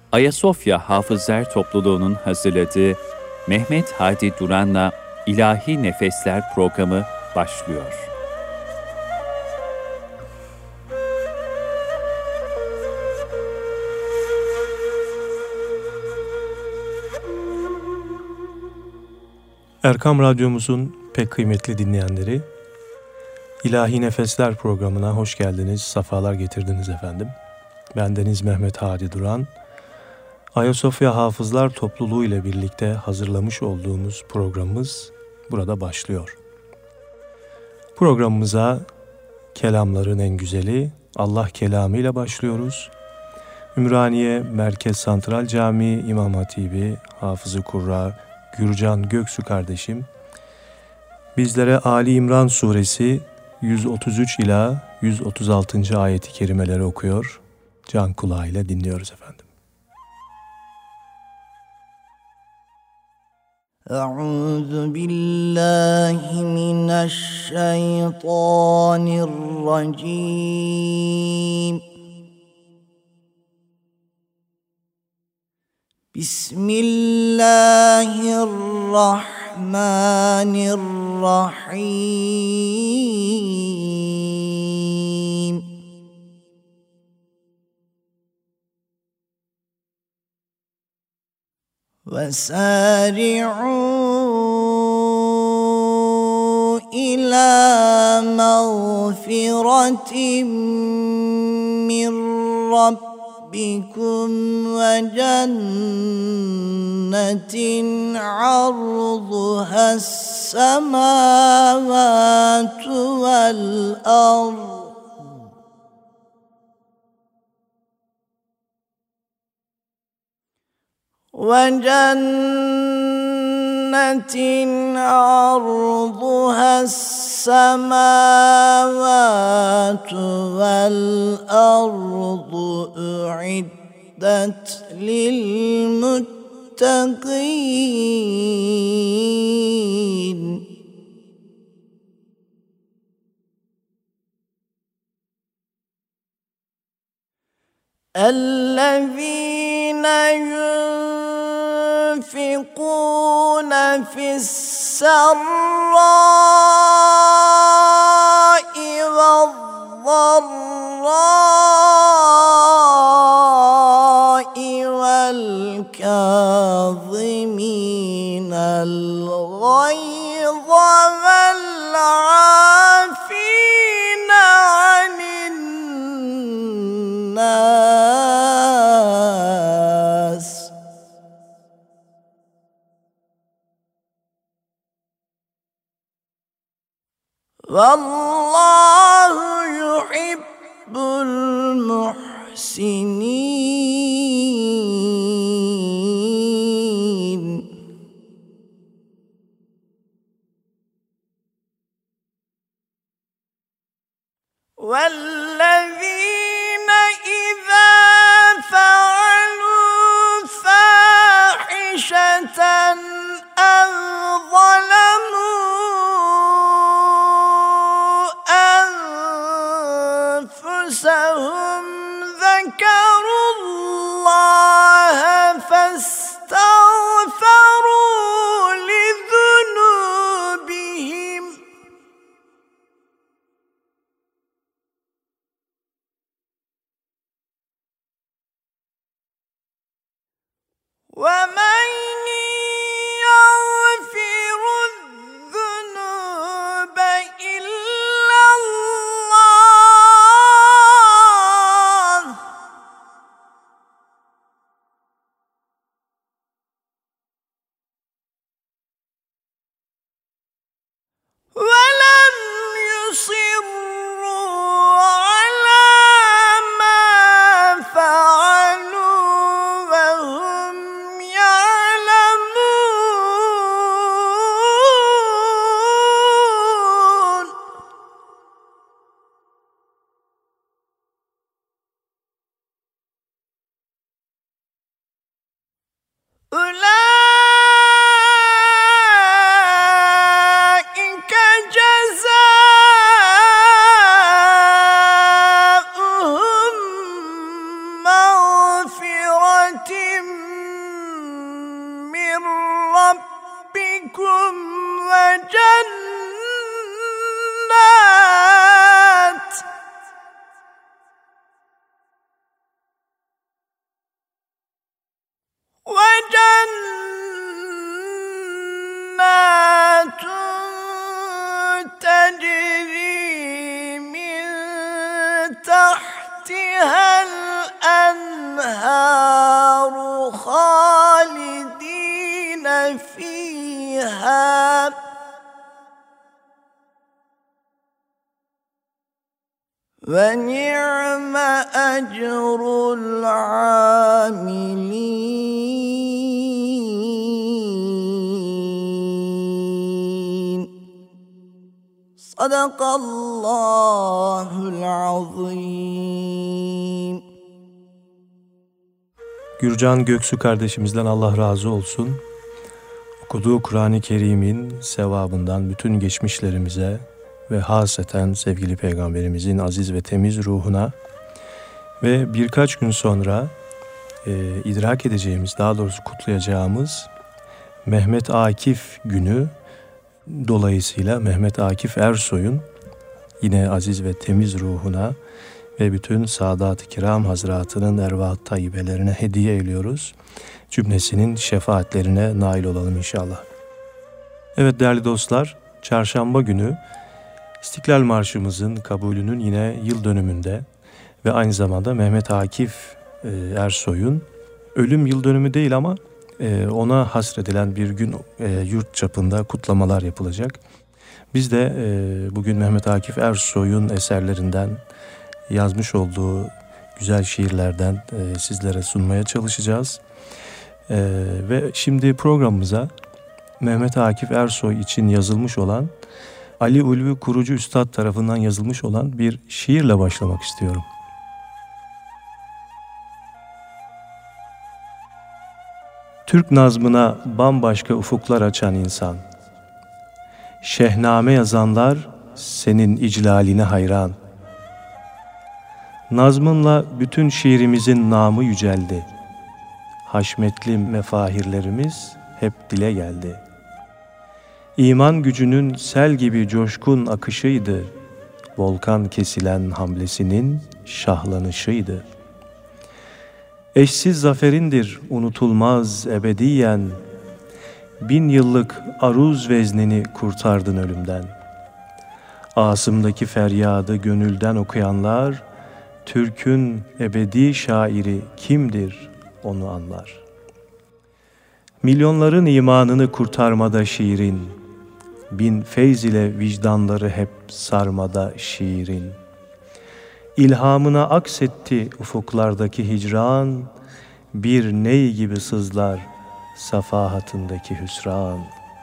Ayasofya Hafızlar Topluluğu'nun hazırladığı Mehmet Hadi Duran'la İlahi Nefesler programı başlıyor. Erkam Radyomuzun pek kıymetli dinleyenleri, İlahi Nefesler programına hoş geldiniz, sefalar getirdiniz efendim. Bendeniz Mehmet Hadi Duran. Ayasofya Hafızlar Topluluğu ile birlikte hazırlamış olduğumuz programımız burada başlıyor. Programımıza kelamların en güzeli Allah kelamı ile başlıyoruz. Ümraniye Merkez Santral Camii İmam Hatibi Hafız-ı Kurra Gürcan Göksu kardeşim bizlere Ali İmran suresi 133 ila 136. ayeti kerimeleri okuyor. Can kulağıyla dinliyoruz efendim. Euzu billahi mineşşeytanirracim. Bismillahirrahmanirrahim. وَسَارِعُوا إِلَى مَغْفِرَةٍ مِّن رَّبِّكُمْ وَجَنَّةٍ عَرْضُهَا السَّمَاوَاتُ وَالْأَرْضُ عرضها السماوات والأرض أعدت للمتقين الذين ينفقون في السراء والضراء والكاظمين الغيظ والعافين عن الناس والله يحب المحسنين والذين إذا فعلوا فاحشة أو أنفسهم ذكروا الله فاستغفروا لذنوبهم ربكم وجنات تجري من تحتها الأنهار خالدين فيها ونعم أجر العاملين صدق الله العظيم. Gürcan Göksu kardeşimizden Allah razı olsun. Okuduğu Kur'an-ı Kerim'in sevabından bütün geçmişlerimize ve haseten sevgili Peygamberimizin aziz ve temiz ruhuna ve birkaç gün sonra idrak edeceğimiz, daha doğrusu kutlayacağımız Mehmet Akif günü dolayısıyla Mehmet Akif Ersoy'un yine aziz ve temiz ruhuna ve bütün Sadat-ı Kiram Hazretlerinin ervah-ı tayyibelerine hediye ediyoruz. Cümlesinin şefaatlerine nail olalım inşallah. Evet değerli dostlar, çarşamba günü İstiklal Marşımızın kabulünün yine yıl dönümünde ve aynı zamanda Mehmet Akif Ersoy'un ölüm yıl dönümü değil ama ona hasredilen bir gün yurt çapında kutlamalar yapılacak. Biz de bugün Mehmet Akif Ersoy'un eserlerinden, yazmış olduğu güzel şiirlerden sizlere sunmaya çalışacağız. Ve şimdi programımıza Mehmet Akif Ersoy için yazılmış olan, Ali Ulvi Kurucu Üstad tarafından yazılmış olan bir şiirle başlamak istiyorum. Türk nazmına bambaşka ufuklar açan insan, şehname yazanlar senin iclaline hayran. Nazmınla bütün şiirimizin namı yüceldi. Haşmetli mefahirlerimiz hep dile geldi. İman gücünün sel gibi coşkun akışıydı. Volkan kesilen hamlesinin şahlanışıydı. Eşsiz zaferindir unutulmaz ebediyen. 1000 yıllık aruz veznini kurtardın ölümden. Asımdaki feryadı gönülden okuyanlar, Türk'ün ebedi şairi kimdir onu anlar. Milyonların imanını kurtarmada şiirin, 1000 feyz ile vicdanları hep sarmada şiirin. İlhamına aksetti ufuklardaki hicran, bir ney gibi sızlar safahatındaki hüsran.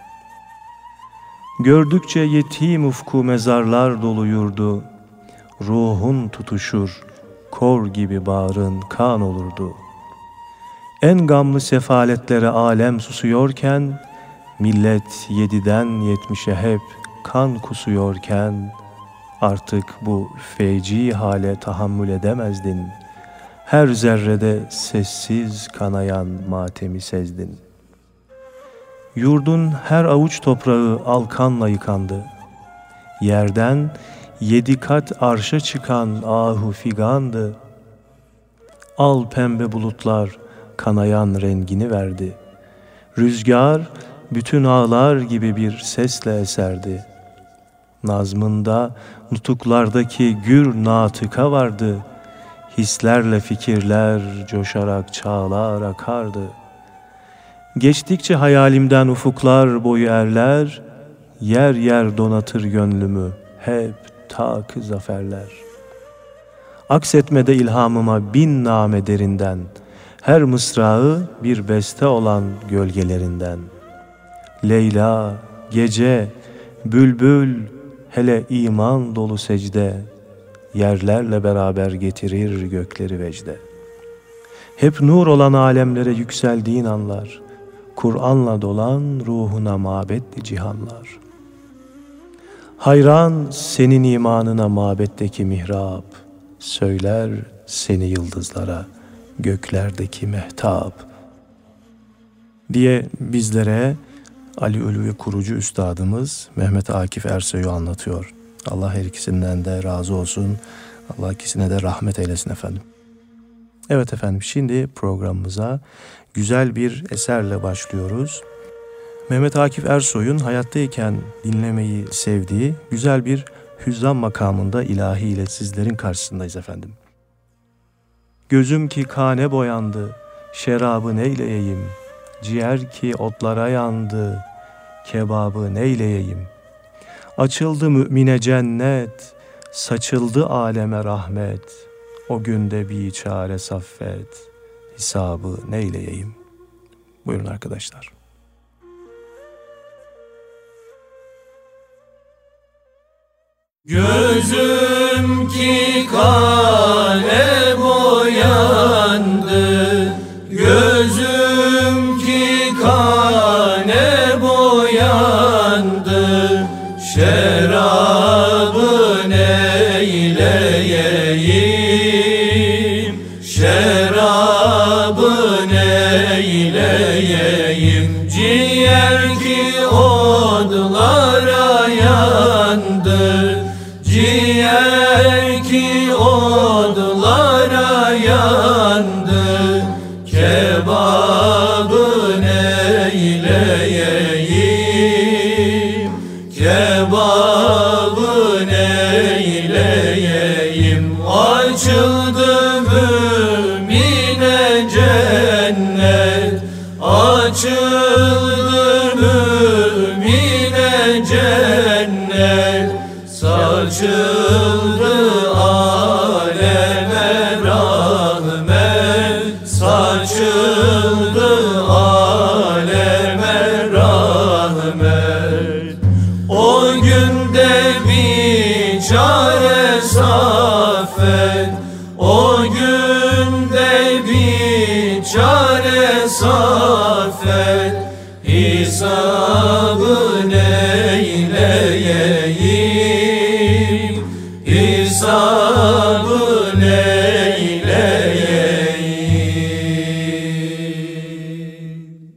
Gördükçe yetim ufku mezarlar doluyurdu, ruhun tutuşur, kor gibi bağrın kan olurdu. En gamlı sefaletlere alem susuyorken, millet 7'den 70'e hep kan kusuyorken, artık bu feci hale tahammül edemezdin. Her zerrede sessiz kanayan matemi sezdin. Yurdun her avuç toprağı alkanla yıkandı. Yerden 7 kat arşa çıkan ahu figandı. Al pembe bulutlar kanayan rengini verdi. Rüzgar bütün ağlar gibi bir sesle eserdi. Nazmında nutuklardaki gür natıka vardı. Hislerle fikirler coşarak çağlar akardı. Geçtikçe hayalimden ufuklar boyu erler, yer yer donatır gönlümü hep tak zaferler. Aksetmede ilhamıma 1000 name derinden, her mısrağı bir beste olan gölgelerinden. Leyla, gece, bülbül, hele iman dolu secde, yerlerle beraber getirir gökleri vecde. Hep nur olan alemlere yükseldiğin anlar, Kur'an'la dolan ruhuna mabetli cihanlar. Hayran senin imanına mabetteki mihrap, söyler seni yıldızlara göklerdeki mehtap diye bizlere Ali Ulvi kurucu üstadımız Mehmet Akif Ersoy'u anlatıyor. Allah her ikisinden de razı olsun. Allah ikisine de rahmet eylesin efendim. Evet efendim, şimdi programımıza güzel bir eserle başlıyoruz. Mehmet Akif Ersoy'un hayattayken dinlemeyi sevdiği güzel bir hüzzam makamında ilahi ile sizlerin karşısındayız efendim. Gözüm ki kane boyandı, şerabı neyleyeyim? Ciğer ki otlara yandı, kebabı neyleyeyim? Açıldı mümine cennet, saçıldı aleme rahmet. O günde biçare saffet, hesabı neyleyeyim? Buyurun arkadaşlar. Gözüm ki kane boyandı, gözüm ki kane boyandı, şerabı neyleyeyim, şerabı neyleyeyim, ciğer ki odlara yandı, ciğer ki odlara yandı, kebabı neyleyeyim, kebabı neyleyeyim. Açıldı mümine cennet, açıldı mümine cennet, saçıldı aleme rahmet, saçıldı aleme rahmet. O günde biçare saffet, o günde biçare saffet, hesabı neyleyeyim, hesabı neyleyeyim.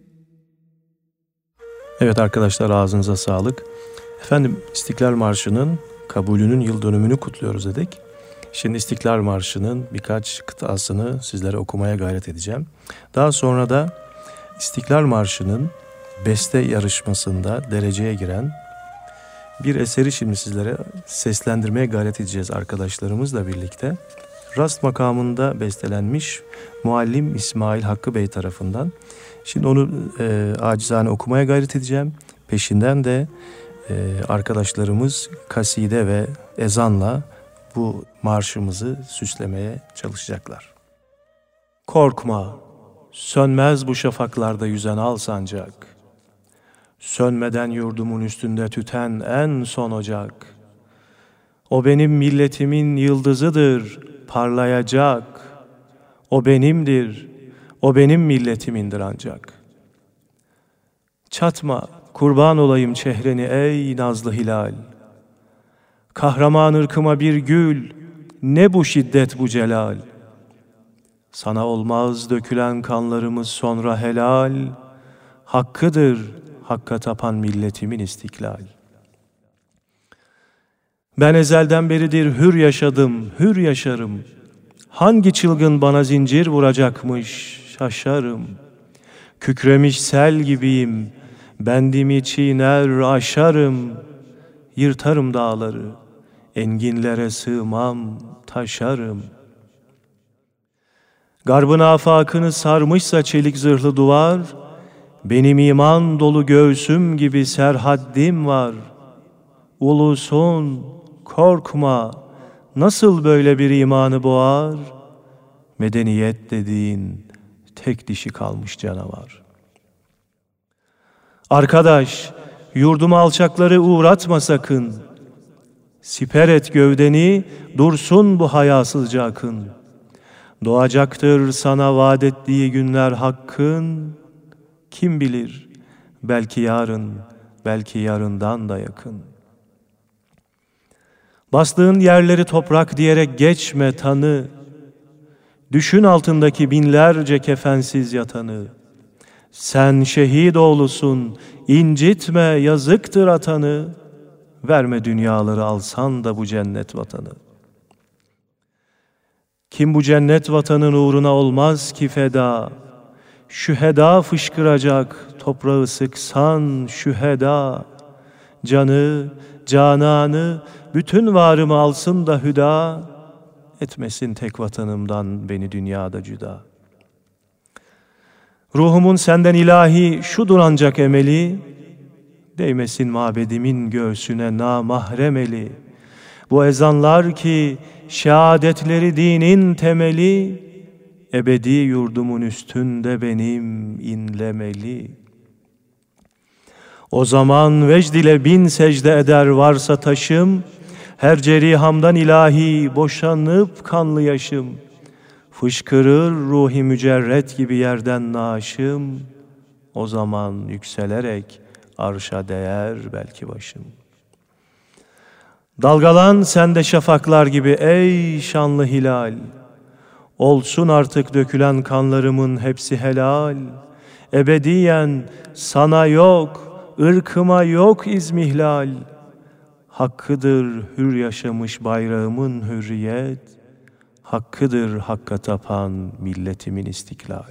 Evet arkadaşlar, ağzınıza sağlık. Efendim, İstiklal Marşı'nın kabulünün yıl dönümünü kutluyoruz dedik. Şimdi İstiklal Marşı'nın birkaç kıtasını sizlere okumaya gayret edeceğim. Daha sonra da İstiklal Marşı'nın beste yarışmasında dereceye giren bir eseri şimdi sizlere seslendirmeye gayret edeceğiz arkadaşlarımızla birlikte. Rast makamında bestelenmiş Muallim İsmail Hakkı Bey tarafından. Şimdi onu acizane okumaya gayret edeceğim. Peşinden de arkadaşlarımız kaside ve ezanla bu marşımızı süslemeye çalışacaklar. Korkma, sönmez bu şafaklarda yüzen al sancak. Sönmeden yurdumun üstünde tüten en son ocak. O benim milletimin yıldızıdır, parlayacak. O benimdir, o benim milletimindir ancak. Çatma, kurban olayım çehreni ey nazlı hilal. Kahraman ırkıma bir gül, ne bu şiddet bu celal. Sana olmaz dökülen kanlarımız sonra helal. Hakkıdır hakka tapan milletimin istiklal. Ben ezelden beridir hür yaşadım, hür yaşarım. Hangi çılgın bana zincir vuracakmış, şaşarım. Kükremiş sel gibiyim, bendimi çiğner aşarım. Yırtarım dağları, enginlere sığmam, taşarım. Garbın afakını sarmışsa çelik zırhlı duvar, benim iman dolu göğsüm gibi serhaddim var. Ulusun, korkma, nasıl böyle bir imanı boğar? Medeniyet dediğin tek dişi kalmış canavar. Arkadaş, yurduma alçakları uğratma sakın. Siper et gövdeni, dursun bu hayasızca akın. Doğacaktır sana vaat ettiği günler hakkın. Kim bilir, belki yarın, belki yarından da yakın. Bastığın yerleri toprak diyerek geçme tanı. Düşün altındaki binlerce kefensiz yatanı. Sen şehit oğlusun, incitme yazıktır atanı, verme dünyaları alsan da bu cennet vatanı. Kim bu cennet vatanın uğruna olmaz ki feda, şüheda fışkıracak, toprağı sıksan şüheda. Canı, cananı, bütün varımı alsın da hüda, etmesin tek vatanımdan beni dünyada cüda. Ruhumun senden ilahi şudur ancak emeli, değmesin mabedimin göğsüne namahrem eli. Bu ezanlar ki şehadetleri dinin temeli, ebedi yurdumun üstünde benim inlemeli. O zaman vecd ile bin secde eder varsa taşım, her cerihamdan ilahi boşanıp kanlı yaşım. Fışkırır ruhi mücerret gibi yerden naaşım, o zaman yükselerek arşa değer belki başım. Dalgalan sen de şafaklar gibi ey şanlı hilal, olsun artık dökülen kanlarımın hepsi helal. Ebediyen sana yok, ırkıma yok izmihlal. Hakkıdır hür yaşamış bayrağımın hürriyet, hakkıdır hakka tapan milletimin istiklal.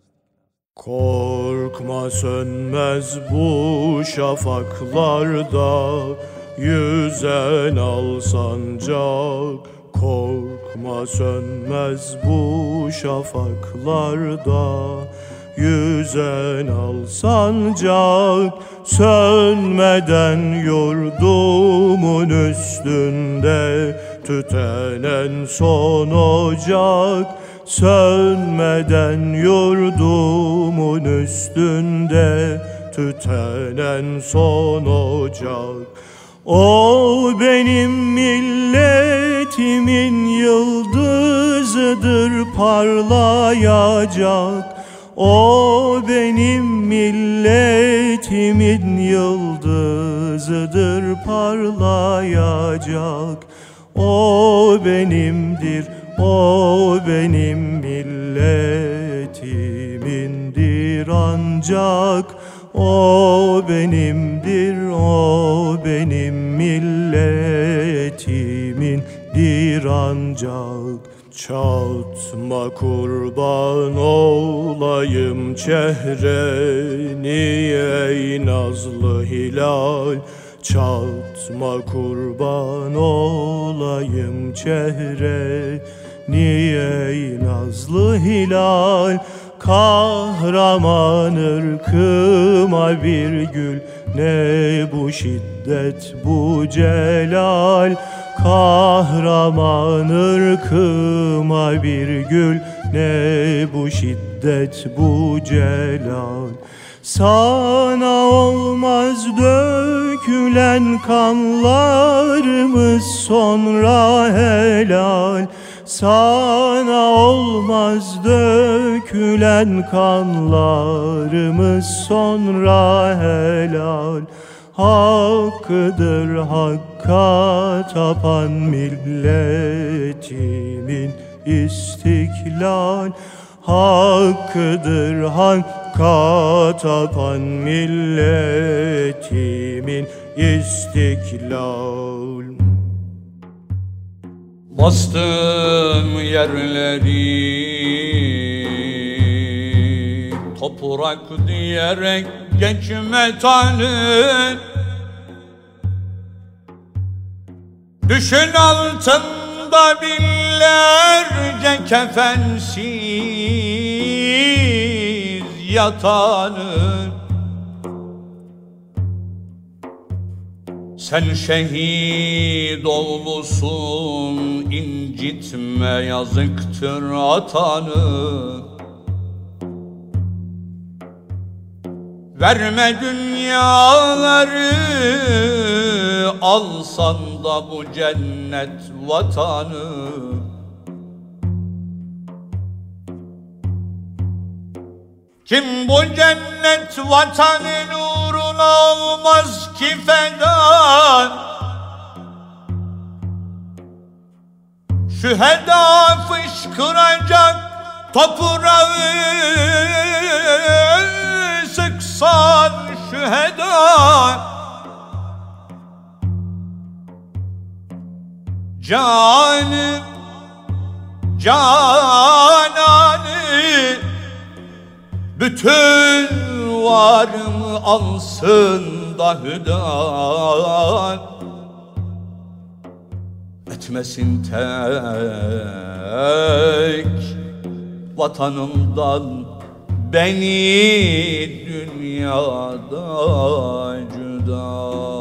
Korkma sönmez bu şafaklarda, yüzen al sancak. Korkma sönmez bu şafaklarda, yüzen al sancak. Sönmeden yurdumun üstünde tütenen son ocak. Sönmeden yurdumun üstünde tütenen son ocak. O benim milletimin yıldızıdır parlayacak. O benim milletimin yıldızıdır parlayacak. O benimdir, o benim milletimindir ancak. O benimdir, o benim milletimindir ancak. Çatma kurban olayım çehreni ey nazlı hilal. Çatma kurban olayım çehreni ey nazlı hilal. Kahraman ırkıma bir gül, ne bu şiddet bu celal. Kahraman ırkıma bir gül, ne bu şiddet bu celal. Sana olmaz dökülen kanlarımız sonra helal. Sana olmaz dökülen kanlarımız sonra helal. Hakkıdır hakka tapan milletimin istiklal. Hakkıdır hakka tapan milletimin istiklal. Bastım yerleri toprak diyerek geçme tanrı. Düşün altında binlerce kefensiz yatanı. Sen şehit oğlusun, incitme yazıktır atanı. Verme dünyaları alsan da bu cennet vatanı. Kim bu cennet vatanın uğruna olmaz ki feda? Şüheda fışkıracak toprağı sıksan şüheda. Canım, cananı, bütün varımı alsın da hüdan. Etmesin tek vatanımdan beni dünyada cüda.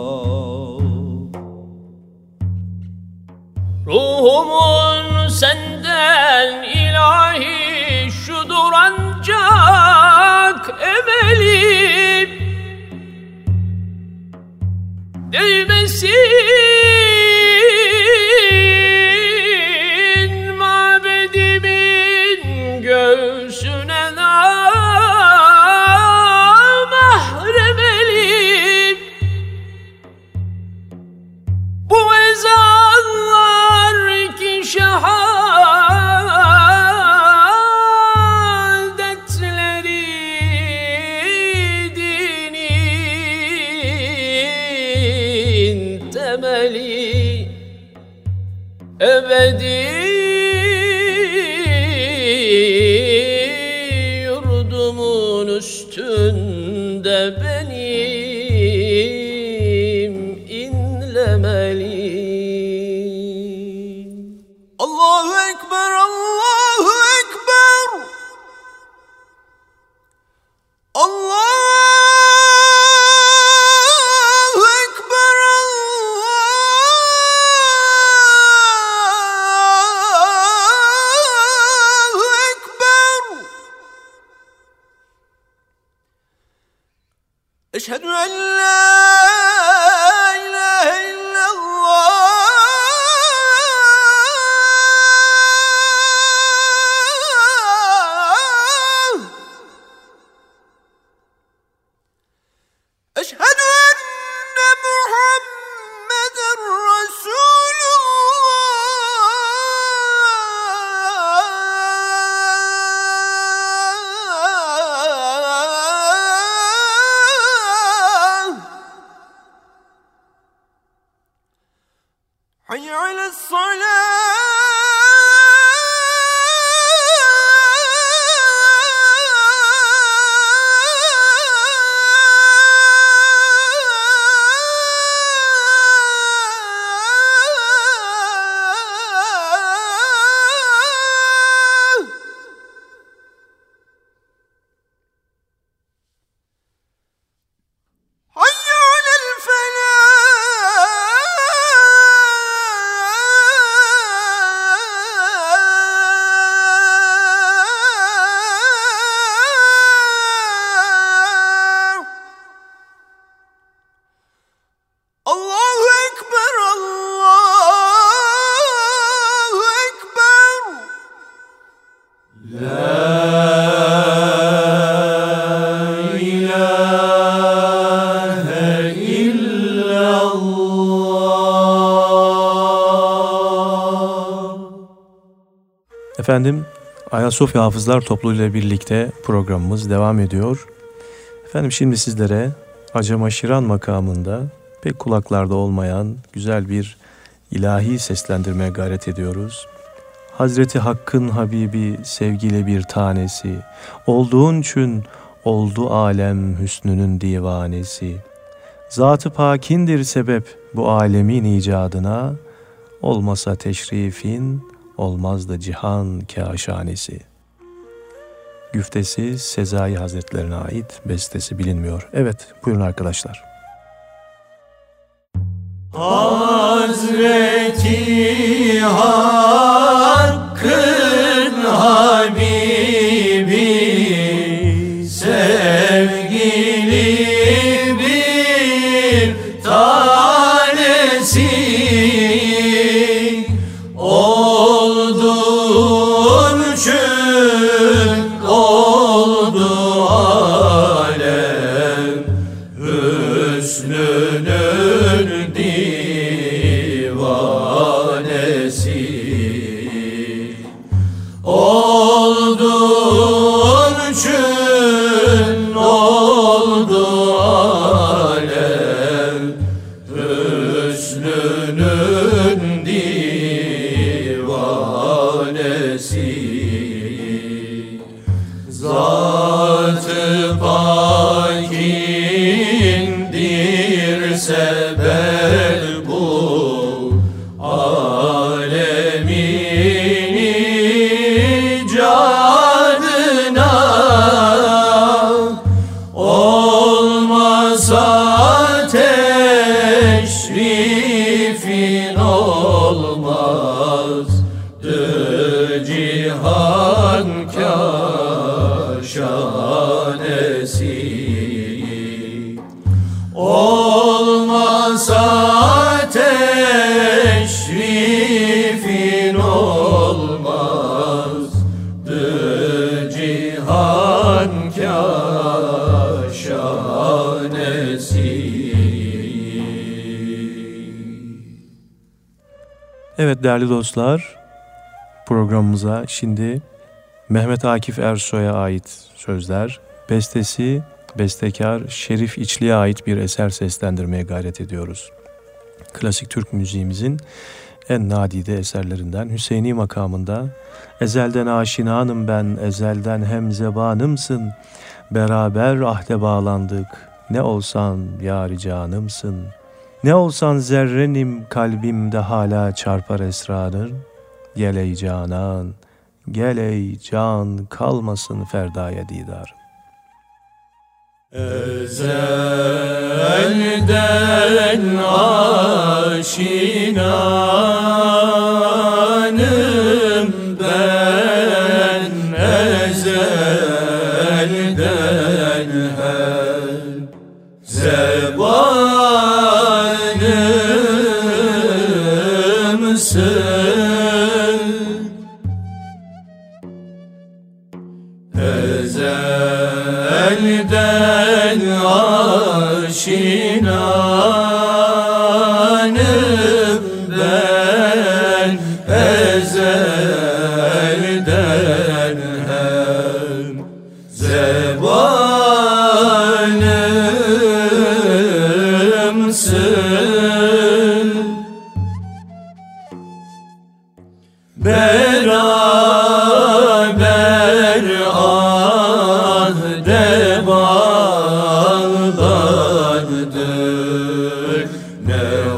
Ruhumun senden ilahi şudur ancak emelim değmesin mabedimin göğsüne namahrem elim. Bu ezanlar ki şehadetleri dinin temeli ebedi yurdumun üstünde benim inlemeli. Allahu Ekber, Allahu Ekber. Allahu Ekber, Allahu Ekber. Eşhedü en la ilahe illallah. Eşhedü enne Muhammeden Resulullah. Hayy ale's-salah. Allahu Ekber, Allahu Ekber. Efendim, Ayasofya Hafızlar Topluluğu ile birlikte programımız devam ediyor. Efendim şimdi sizlere Acemaşiran makamında pek kulaklarda olmayan güzel bir ilahi seslendirmeye gayret ediyoruz. Hazreti Hakk'ın Habibi sevgili bir tanesi, olduğun için oldu alem hüsnünün divanesi. Zat-ı pakindir sebep bu alemin icadına, olmasa teşrifin olmazdı cihan kâşanesi. Güftesi Sezai Hazretlerine ait, bestesi bilinmiyor. Evet, buyurun arkadaşlar. Hazreti Hakk'ın Habibi sevgili bir tanesi, olduğun için oldu alem hüsnünün divanesi. Olduğun için sebep bu alemin icadına, olmasa teşrifin olmazdı cihan kaşanesi. Olmasa teşrifin olmazdı cihan kaşanesi. Evet değerli dostlar, programımıza şimdi Mehmet Akif Ersoy'a ait sözler, bestesi, bestekar Şerif İçli'ye ait bir eser seslendirmeye gayret ediyoruz. Klasik Türk müziğimizin en nadide eserlerinden Hüseyni makamında ezelden aşinanım ben, ezelden hemzebanımsın, beraber ahde bağlandık, ne olsan yâri canımsın, ne olsan zerrenim kalbimde hala çarpar esrarın, gel ey canan, gel ey can, kalmasın ferdaya didarım. Ezelden aşinanım ben, ezelden her zebanımsın. Ezelden aşinanım ben, ezelden hem zebanımsın. Beraber ahde bağlandık, ne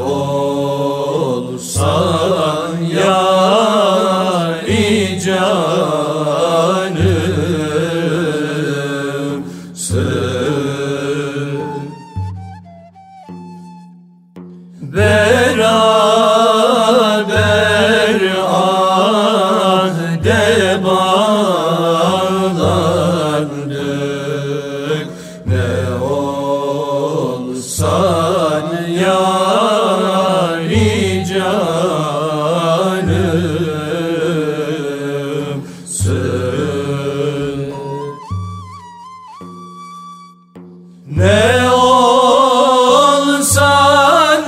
olsan yâri canımsın. Beraber ahde bağlandık, ne olsan yâri canımsın. Ne olsan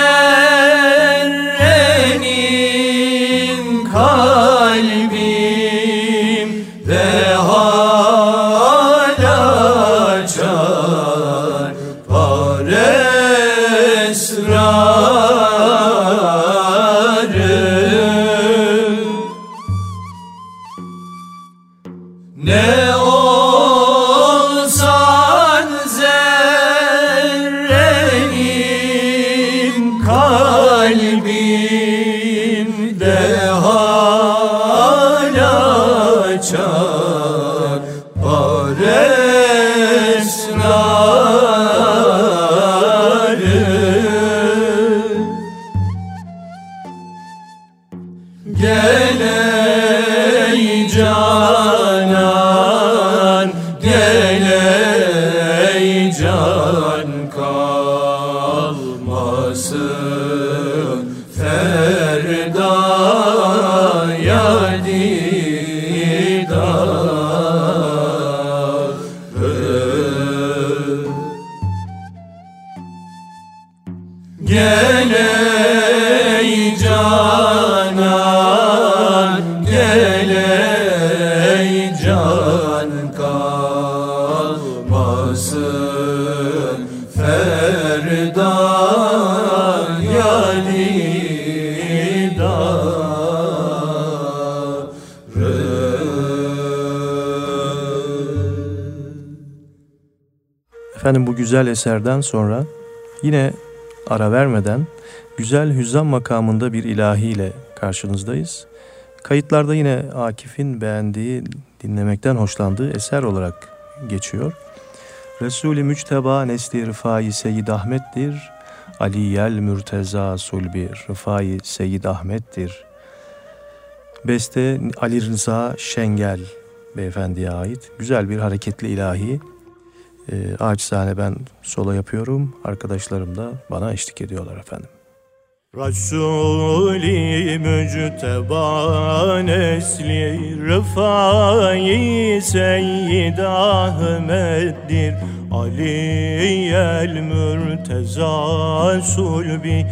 zerrenin kalbimde hala çarpar esrarım. Ne olsan zerrenin kalbimde hala çarpar esrarım. Gel ey canan, gel ey can, kalmasın ferdaya didarım. Gel ey canan, gel ey can, kalmasın ferdaya didarım. Efendim bu güzel eserden sonra yine ara vermeden güzel hüzzam makamında bir ilahiyle karşınızdayız. Kayıtlarda yine Akif'in beğendiği, dinlemekten hoşlandığı eser olarak geçiyor. Resul-i Müçteba nesli Rıfai Seyyid Ahmet'tir. Aliyel Mürteza Sulbi Rıfai Seyyid Ahmet'tir. Beste Ali Rıza Şengel beyefendiye ait. Güzel bir hareketli ilahi. Acizane ben solo yapıyorum. Arkadaşlarım da bana eşlik ediyorlar efendim. Resul-i Mücteba nesli Rıfai Seyyid Ahmet'dir. Aliyel Mürteza Sulbi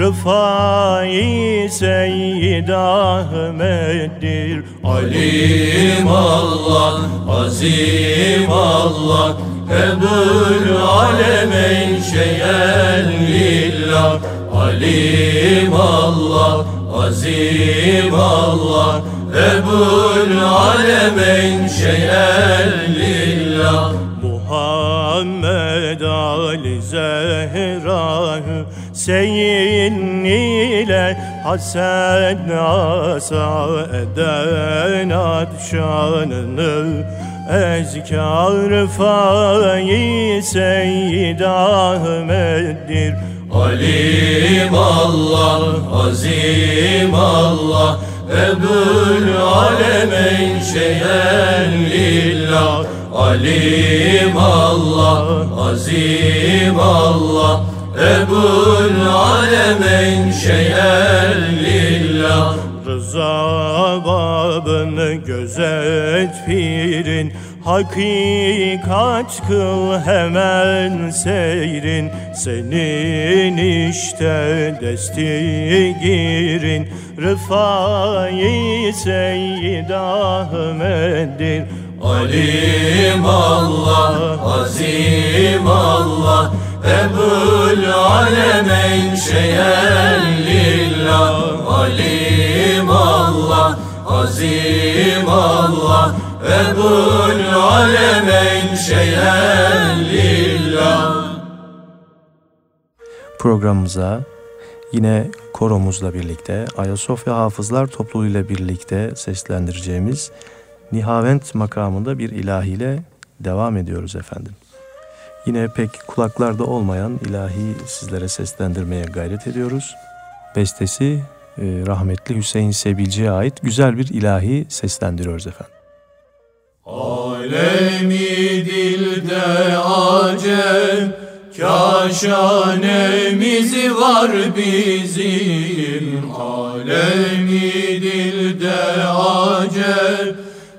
Rıfai Seyyid Ahmet'dir. Alim Allah, azim Allah, Ebul alemeyn şeyen lillah. Alim Allah, azim Allah, Ebul alemeyn şeyen lillah. Muhammed Ali Zehra'yı Seyyid ile Hasen asa eden adşanını ezkâr Rıfai Seyyid Ahmet'dir. Alim Allah, azim Allah, Ebul alemeyn şeyen lillah. Alim Allah, azim Allah, Ebul alemeyn şeyen lillah. Rıza babını gözet pirin, hakikat kıl hemen seyrin. Senin işte destigirin, Rıfai Seyyid Ahmet'dir. Alim Allah, azim Allah, Ebul alemeyn şeyen lillah. Alim Allah, azim Allah, Ebul alemeyn şeyen lillah. Programımıza yine koromuzla birlikte Ayasofya Hafızlar Topluluğu'yla birlikte seslendireceğimiz Nihavent makamında bir ilahiyle devam ediyoruz efendim. Yine pek kulaklarda olmayan ilahi sizlere seslendirmeye gayret ediyoruz. Bestesi rahmetli Hüseyin Sebilci'ye ait güzel bir ilahi seslendiriyoruz efendim. Alemi dilde acem, kaşanemiz var bizim. Alemi dilde acem,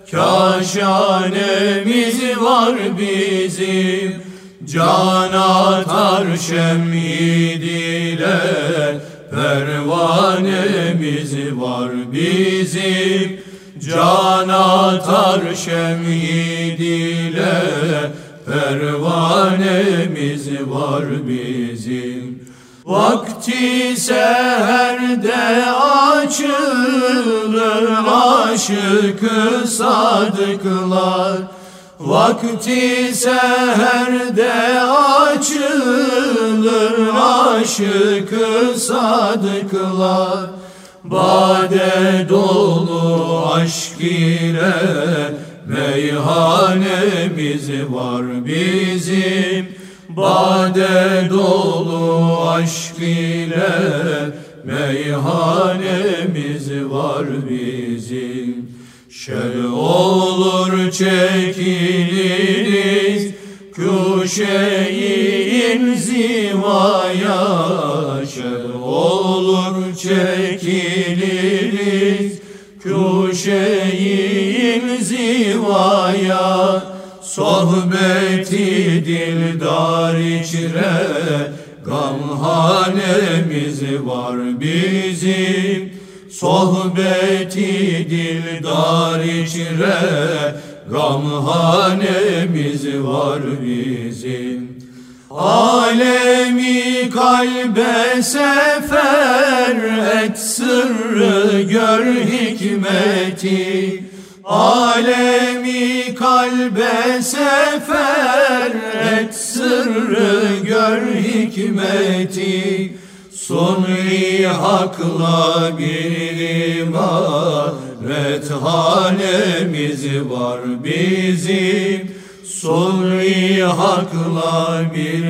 kaşanemiz var bizim. Can atar şemid ile pervanemiz var bizim. Can atar şemid ile pervanemiz var bizim. Vakti seherde açılır aşık-ı sadıklar. Vakti seherde açılır aşık-ı sadıklar. Bade dolu aşk ile meyhanemiz var bizim. Bade dolu aşk ile meyhanemiz var bizim. Şel olur çekiliriz kuşe-i inzivaya. Şel olur çekiliriz kuşe-i inzivaya. Sohbeti dildar içre gamhanemiz var bizim. Sohbeti dildar içre gamhanemiz var bizim. Alemi kalbe sefer et sırrı gör hikmeti. Alemi kalbe sefer et sırrı sırrı gör hikmeti, Sunni hakla bir ibaret hanemiz var bizim. Sunni hakla bir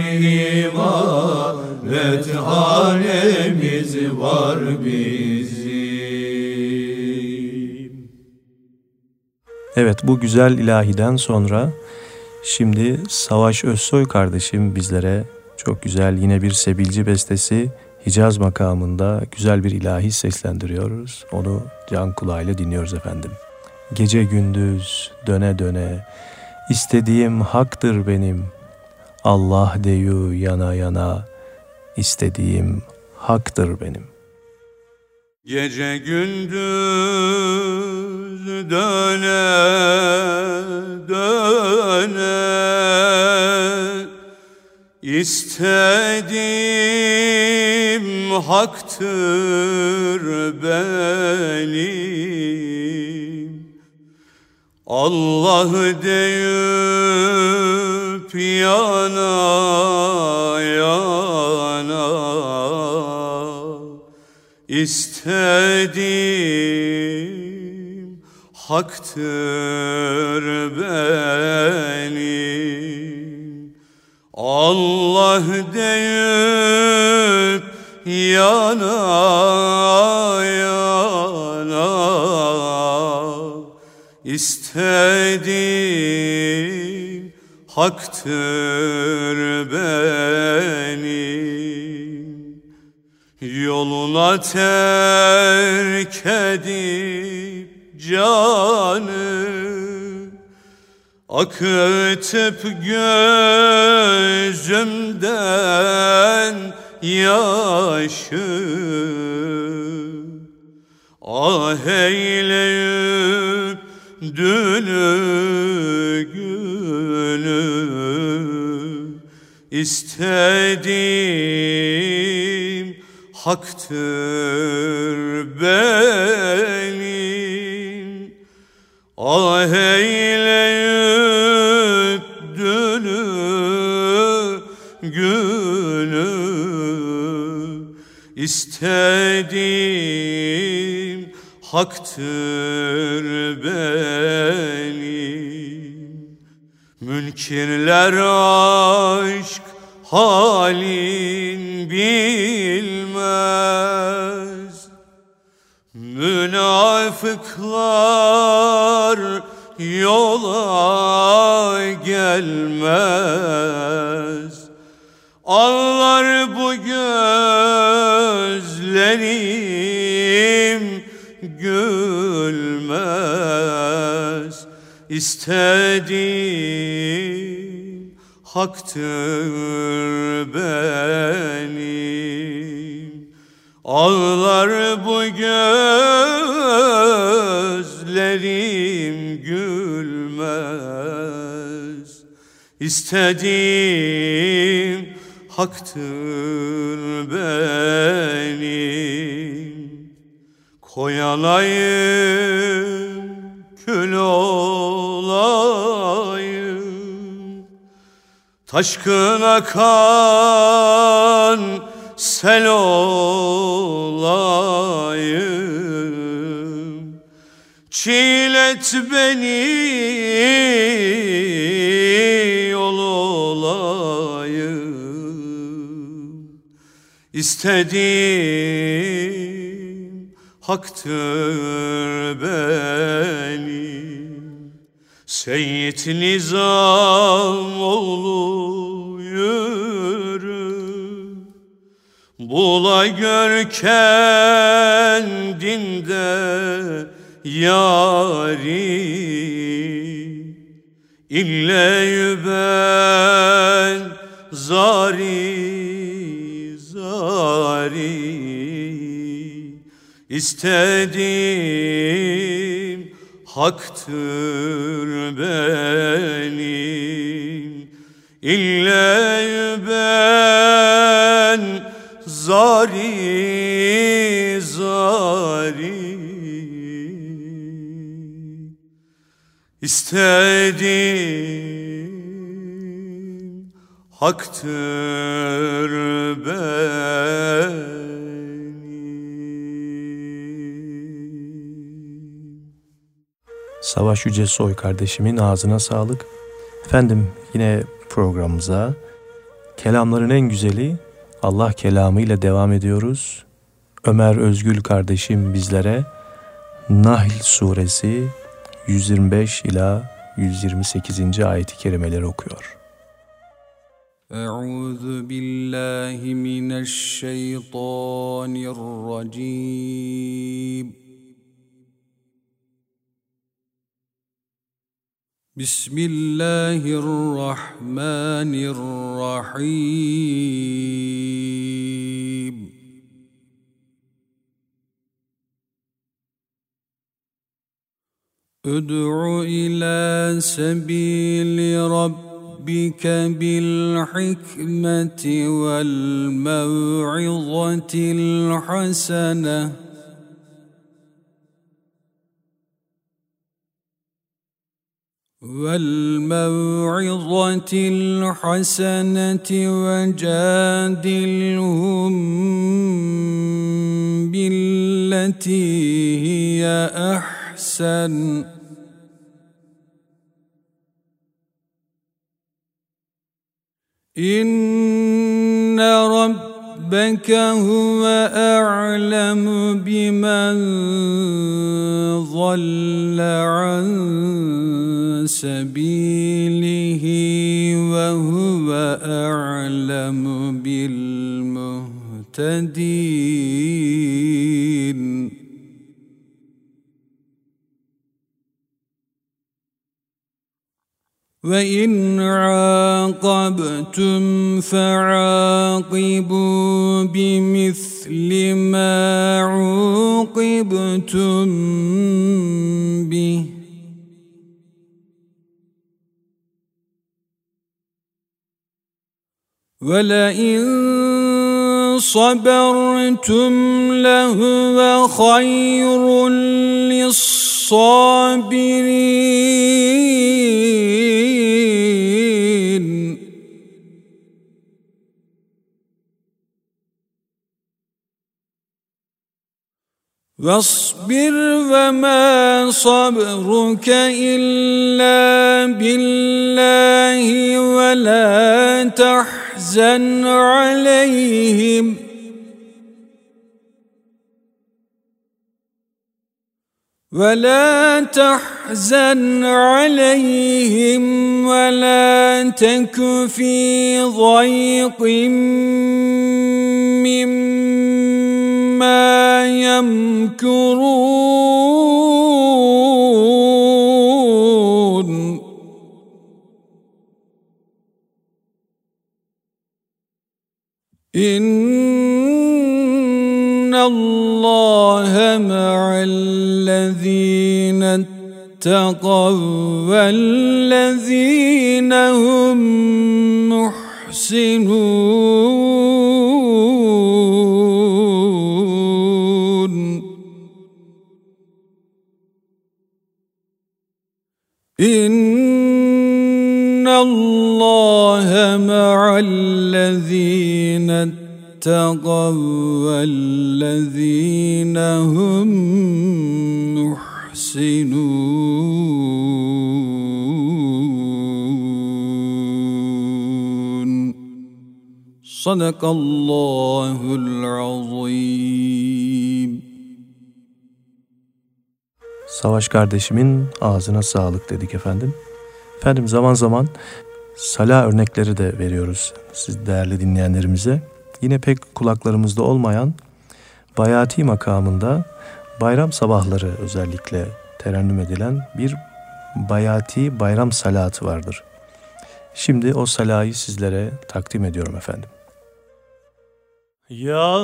ibaret hanemiz var bizim. Evet, bu güzel ilahiden sonra şimdi Savaş Özsoy kardeşim bizlere çok güzel yine bir sebilci bestesi Hicaz makamında güzel bir ilahi seslendiriyoruz. Onu can kulağıyla dinliyoruz efendim. Gece gündüz döne döne istediğim haktır benim. Allah deyu yana yana istediğim haktır benim. Gece gündüz döne döne İstediğim haktır benim. Allah deyip yana yana İstediğim haktır benim. Allah deyip yana yana İstediğim haktır benim. Yoluna terk edip canı akıtıp gözümden yaşı ah eyleyip dünü günü istediğim haktır benim. Ah eyleyip dünü günü istediğim haktır benim. Münkirler aşk halin bilmez, münafıklar yola gelmez. Ağlar bu gözlerim gülmez. İstediğim haktır benim. Ağlar bu gözlerim gülmez. İstediğim haktır benim. Koyalayım kül olayım, taşkın akan sel olayım. Çiğlet beni yol olayım. İstediğim haktır benim. Seyyid Nizamoğlu yürü, bula gör kendinde yari. İlle ben zari zari istediğim haktır benim. İlle ben zari zari istediğim haktır benim. Savaş Yücesoy kardeşimin ağzına sağlık. Efendim yine programımıza kelamların en güzeli Allah kelamı ile devam ediyoruz. Ömer Özgül kardeşim bizlere Nahl suresi 125 ila 128. ayet-i kerimeleri okuyor. Euzu billahi mineşşeytanirracim. Bismillahirrahmanirrahim. Ud'u ila sebili rabbika bil hikmeti vel mev'izatil haseneh. وَالْمَوْعِظَةِ الْحَسَنَةِ وَجَادِلْهُمْ بِالَّتِي هِيَ أَحْسَنُ إِنَّ رَبَّكَ هُوَ أَعْلَمُ بِمَنْ ضَلَّ عَنْ سبيله وهو أعلم بالمهتدين. وإن عاقبتم فعاقبوا بمثل ما عوقبتم به وَلَئِن صَبَرْتُمْ لَهُوَ خَيْرٌ لِلصَّابِرِينَ. وَاصْبِرْ وَمَا صَبْرُكَ إِلَّا بِاللَّهِ وَلَا تَحْزَنْ عَلَيْهِمْ وَلَا تَكُ فِي ضَيْقٍ مِّمَّا يَمْكُرُونَ. إِنَّ اللَّهَ مَعَ الَّذِينَ اتَّقَوْا وَالَّذِينَ هُمْ مُحْسِنُونَ. إِنَّ اللَّهَ مَعَ الَّذِينَ اتَّقَوْا وَالَّذِينَ هُمْ مُحْسِنُونَ. Sadakallahul azim. Savaş kardeşimin ağzına sağlık dedik efendim. Efendim zaman zaman sala örnekleri de veriyoruz siz değerli dinleyenlerimize. Yine pek kulaklarımızda olmayan bayati makamında bayram sabahları özellikle terennüm edilen bir bayati bayram salatı vardır. Şimdi o salayı sizlere takdim ediyorum efendim. Ya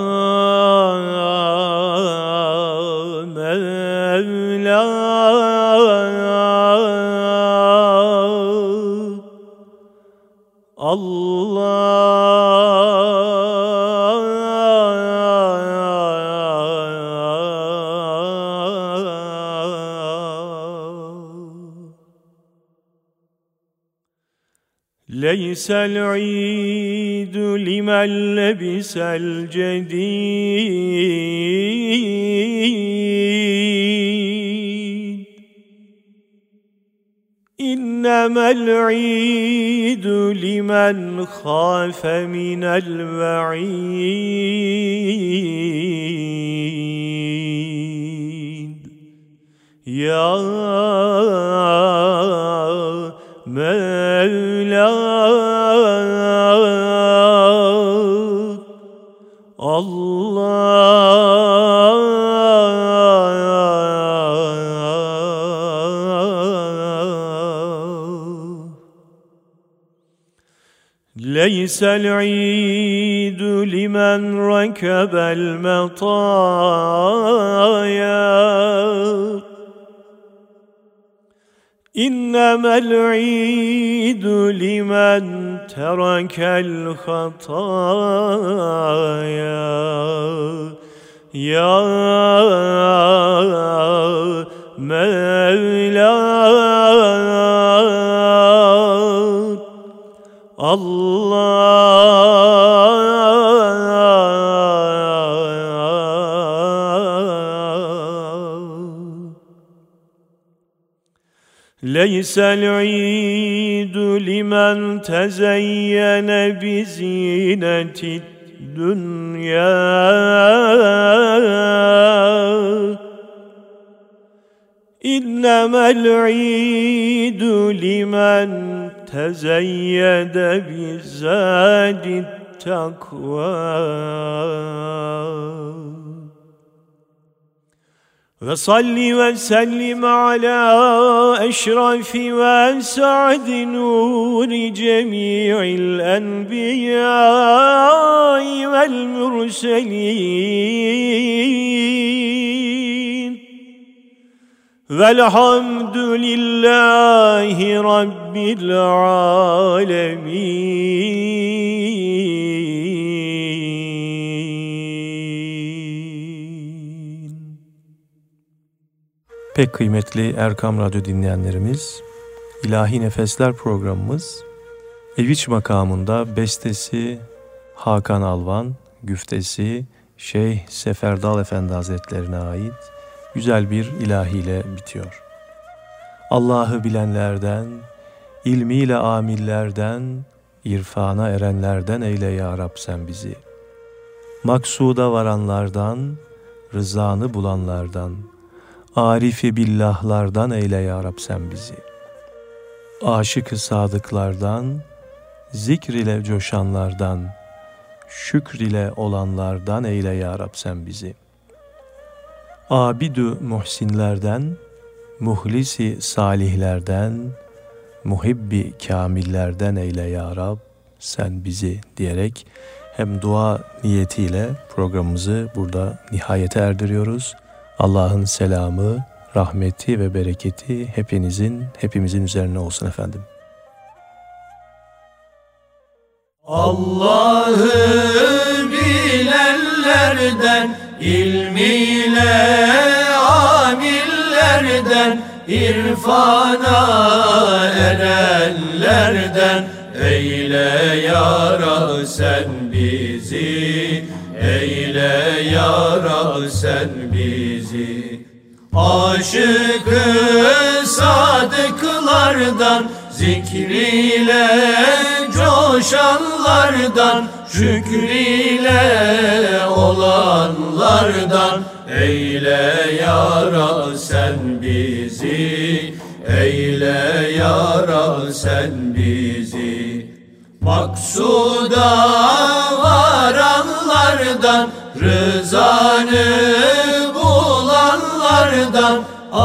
Mevla ليس العيد لمن لبس الجديد إنما العيد لمن خاف من الوعيد يا مولاي الله ليس العيد لمن ركب المطايا إنما العيد لمن ترك الخطايا يا مولاي ليس العيد لمن تزين بزينة الدنيا إنما العيد لمن تزيد بزاد التقوى وصل وسلم على أشرف وأسعد نور جميع الأنبياء والمرسلين والحمد لله رب العالمين. Pek kıymetli Erkam Radyo dinleyenlerimiz, İlahi Nefesler programımız Eviç makamında bestesi Hakan Alvan, güftesi Şeyh Seferdal Efendi Hazretlerine ait güzel bir ilahiyle bitiyor. Allah'ı bilenlerden, ilmiyle amillerden, irfana erenlerden eyle ya Rab sen bizi. Maksuda varanlardan, rızanı bulanlardan, Arif-i billahlardan eyle ya Rab sen bizi. Aşık-ı sadıklardan, zikr ile coşanlardan, şükr ile olanlardan eyle ya Rab sen bizi. Abid-ü muhsinlerden, muhlisi salihlerden, muhibbi kamillerden eyle ya Rab sen bizi diyerek hem dua niyetiyle programımızı burada nihayete erdiriyoruz. Allah'ın selamı, rahmeti ve bereketi hepimizin üzerine olsun efendim. Allah'ı bilenlerden, ilmiyle amillerden, irfana erenlerden eyle ya Rab sen bizi, eyle ya Rab sen bizi. Aşık-ı sadıklardan, zikriyle coşanlardan, şükriyle olanlardan eyle ya Rab sen bizi, eyle ya Rab sen bizi. Maksuda varanlardan, rızanı bulanlardan,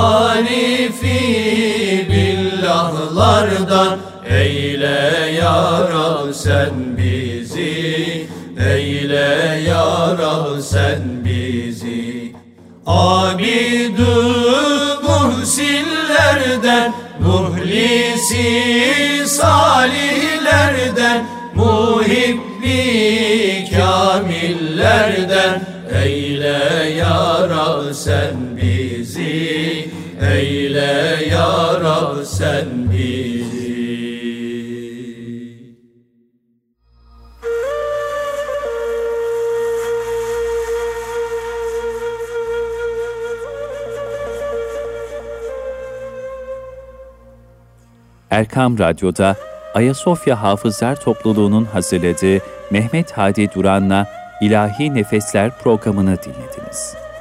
Arifi billahlardan eyle ya Rab sen bizi, eyle ya Rab sen bizi. Abid-ü muhsinlerden, muhlisi salihlerden, muhibbi kamillerden eyle ya Rab sen bizi, eyle ya Rab sen bizi. Erkam Radyo'da Ayasofya Hafızlar Topluluğu'nun hazırladığı Mehmet Hadi Duran'la İlahi Nefesler programını dinlediniz.